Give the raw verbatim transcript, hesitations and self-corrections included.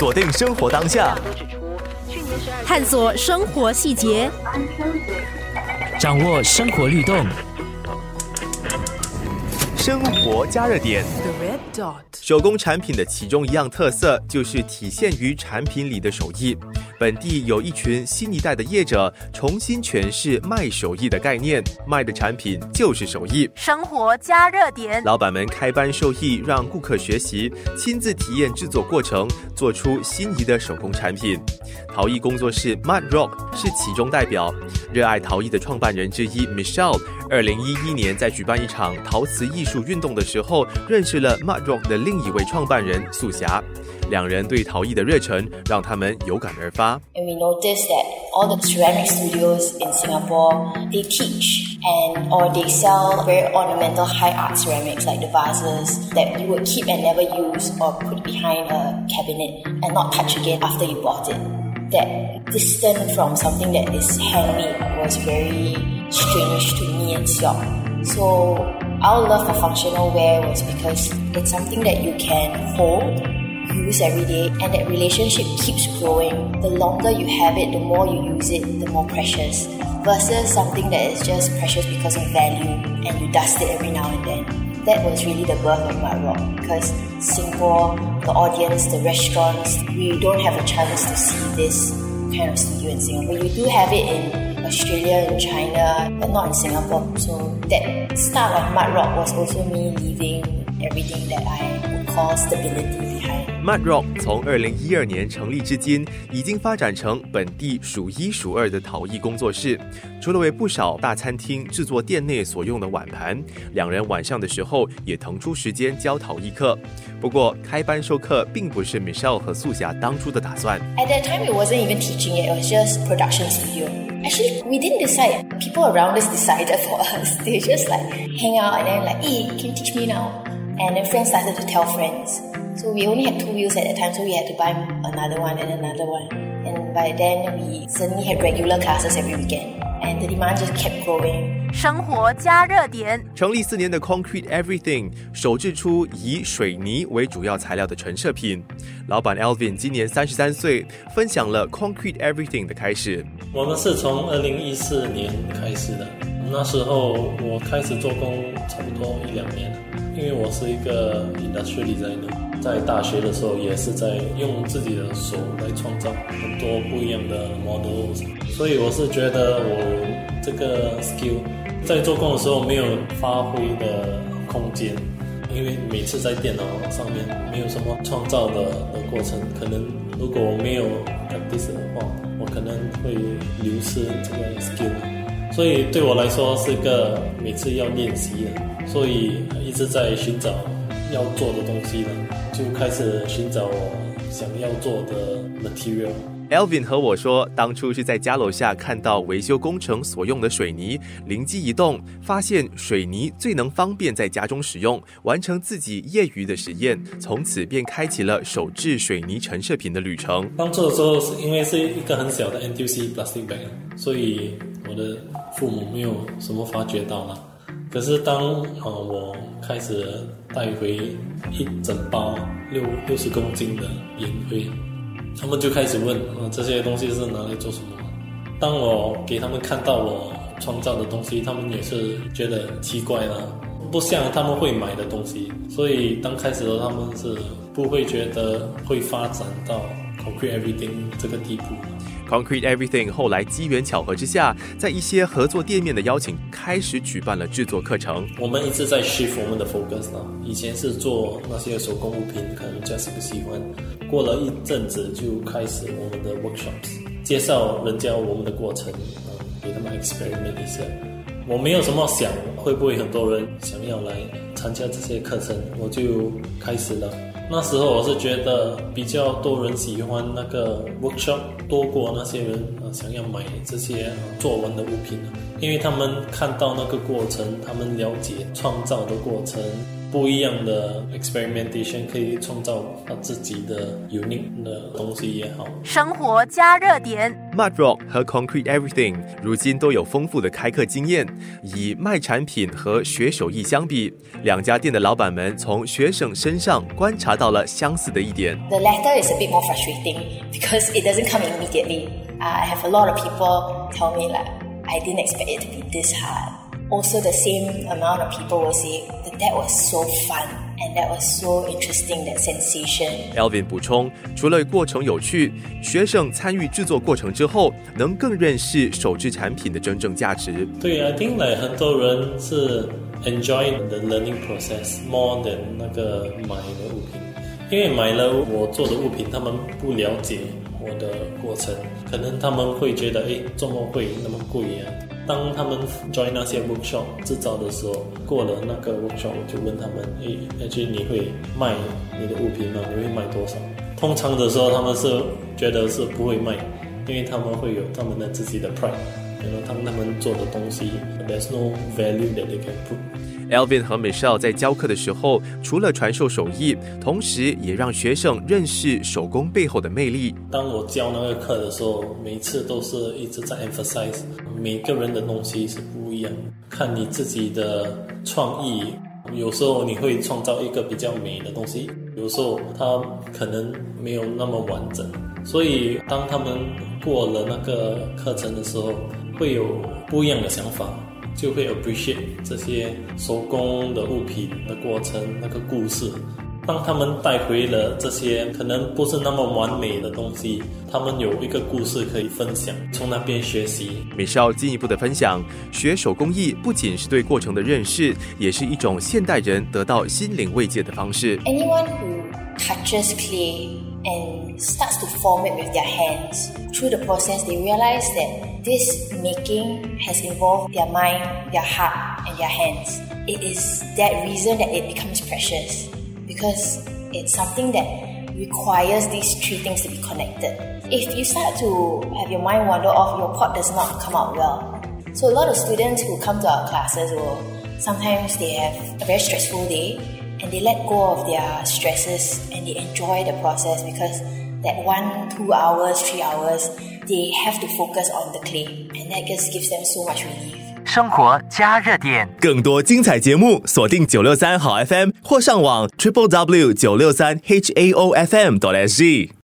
锁定生活当下， 探索生活细节， 掌握生活律动， 生活加热点。手工产品的其中一样特色就是体现于产品里的手艺。本地有一群新一代的业者重新诠释卖手艺的概念，卖的产品就是手艺。 生活加热点， 老板们开班授艺，让顾客学习，亲自体验制作过程，做出心仪的手工产品。陶艺工作室 Mud Rock 是其中代表。热爱陶艺的创办人之一 Michelle， 二零一一年在举办一场陶瓷艺术运动的时候，认识了 Mud Rock 的另一位创办人素霞。两人对陶艺的热忱让他们有感而发。 And we noticed that all the ceramic studios in Singapore, they teach and or they sell very ornamental high art ceramics like the vases that you would keep and never use or put behind a cabinet and not touch again after you bought it. That distance from something that is handmade was very strange to me and Siok. So our love for functional wear was because it's something that you can hold, use every day, and that relationship keeps growing. The longer you have it, the more you use it, the more precious, versus something that is just precious because of value and you dust it every now and then. That was really the birth of Mud Rock, because Singapore, the audience, the restaurants, we don't have a chance to see this kind of studio in Singapore. You do have it in Australia and China, but not in Singapore. So that start of Mud Rock was also me leaving everything that I would call stability behind. Mud Rock 从二零一二年成立至今，已经发展成本地数一数二的陶艺工作室。除了为不少大餐厅制作店内所用的碗盘，两人晚上的时候也腾出时间教陶艺课。不过，开班授课并不是 Michelle 和素霞当初的打算。 At that time, it wasn't even teaching it; it was just production studio. Actually, we didn't decide. People around us decided for us. They just like hang out and then like, hey, can you teach me now? And then friends started to tell friends. So we only had two wheels at that time, so we had to buy another one and another one. And by then, we suddenly had regular classes every weekend. And the demand just kept growing. 生活加热点， 成立四年的 Concrete Everything 首制出以水泥为主要材料的陈设品。老板 Alvin 今年三十三岁，分享了 Concrete Everything 的开始。 我们是从二零一四年开始的，那时候我开始做工差不多一两年了，因为我是一个 industrial designer， 在大学的时候也是在用自己的手来创造很多不一样的 models， 所以我是觉得我这个 skill 在做工的时候没有发挥的空间，因为每次在电脑上面没有什么创造的的过程，可能如果我没有 practice 的话，我可能会流失这个 skill， 所以对我来说是个每次要练习的，所以一直在寻找要做的东西呢，就开始寻找我想要做的 material。Alvin 和我说，当初是在家楼下看到维修工程所用的水泥，灵机一动，发现水泥最能方便在家中使用，完成自己业余的实验，从此便开启了手制水泥陈设品的旅程。 当初的时候，是因为是一个很小的 N T U C plastic bag， 所以我的父母没有什么发觉到了。可是当、呃、我开始带回一整包六六十公斤的烟灰，他们就开始问、呃、这些东西是拿来做什么。当我给他们看到我创造的东西，他们也是觉得奇怪啦，不像他们会买的东西，所以当开始的他们是不会觉得会发展到 Concrete Everything 这个地步。 Concrete Everything 后来机缘巧合之下，在一些合作店面的邀请，开始举办了制作课程。 我们一直在 shift 我们的 focus 啦，以前是做那些手工物品，可能 just 不喜欢。过了一阵子就开始我们的 workshops， 介绍人家我们的过程，嗯，给他们 experiment 一下。我没有什么想会不会很多人想要来参加这些课程，我就开始了。那时候我是觉得比较多人喜欢那个 workshop 多过那些人、呃、想要买这些、呃、做完的物品，因为他们看到那个过程，他们了解创造的过程，不一样的 experimentation 可以创造他自己的 unique 的东西也好。 生活加热点。 Mud Rock 和 Concrete Everything 如今都有丰富的开课经验。以卖产品和学手艺相比，两家店的老板们从学生身上观察到了相似的一点。 The latter is a bit more frustrating because it doesn't come immediately. I have a lot of people tell me like, I didn't expect it to be this hard. Also, the same amount of people will say that that was so fun and that was so interesting, that sensation. Alvin 补充，除了过程有趣，学生参与制作过程之后，能更认识手制产品的真正价值。 对 I think like 很多人是 enjoy the learning process more than 那个买的物品，因为买了我做的物品，他们不了解我的过程，可能他们会觉得，诶，怎么会那么贵啊？当他们 join 那些 workshop 制造的时候，过了那个 workshop， 我就问他们，诶，而且你会卖你的物品吗？你会卖多少？通常的时候，他们是觉得是不会卖，因为他们会有他们的自己的 pride， 然后他们他们做的东西 ，there's no value that they can put。Alvin 和 Michelle 在教课的时候，除了传授手艺，同时也让学生认识手工背后的魅力。 当我教那个课的时候，每次都是一直在 emphasize 每个人的东西是不一样，看你自己的创意。有时候你会创造一个比较美的东西，有时候它可能没有那么完整。所以当他们过了那个课程的时候，会有不一样的想法。就会 appreciate 这些手工的物品的过程，那个故事。当他们带回了这些可能不是那么完美的东西，他们有一个故事可以分享，从那边学习。 Michelle 进一步的分享，学手工艺不仅是对过程的认识，也是一种现代人得到心灵慰藉的方式。 Anyone who touches clay and starts to form it with their hands, through the process they realize that this making has involved their mind, their heart and their hands. It is that reason that it becomes precious, because it's something that requires these three things to be connected. If you start to have your mind wander off, your pot does not come out well. So a lot of students who come to our classes will, sometimes they have a very stressful day and they let go of their stresses and they enjoy the process, because that one, two hours, three hours, they have to focus on the clay, and that just gives them so much relief. 生活加热点， 更多精彩节目锁定九六三好 F M 或上网 triple w 九六三 h a o f m dot s g。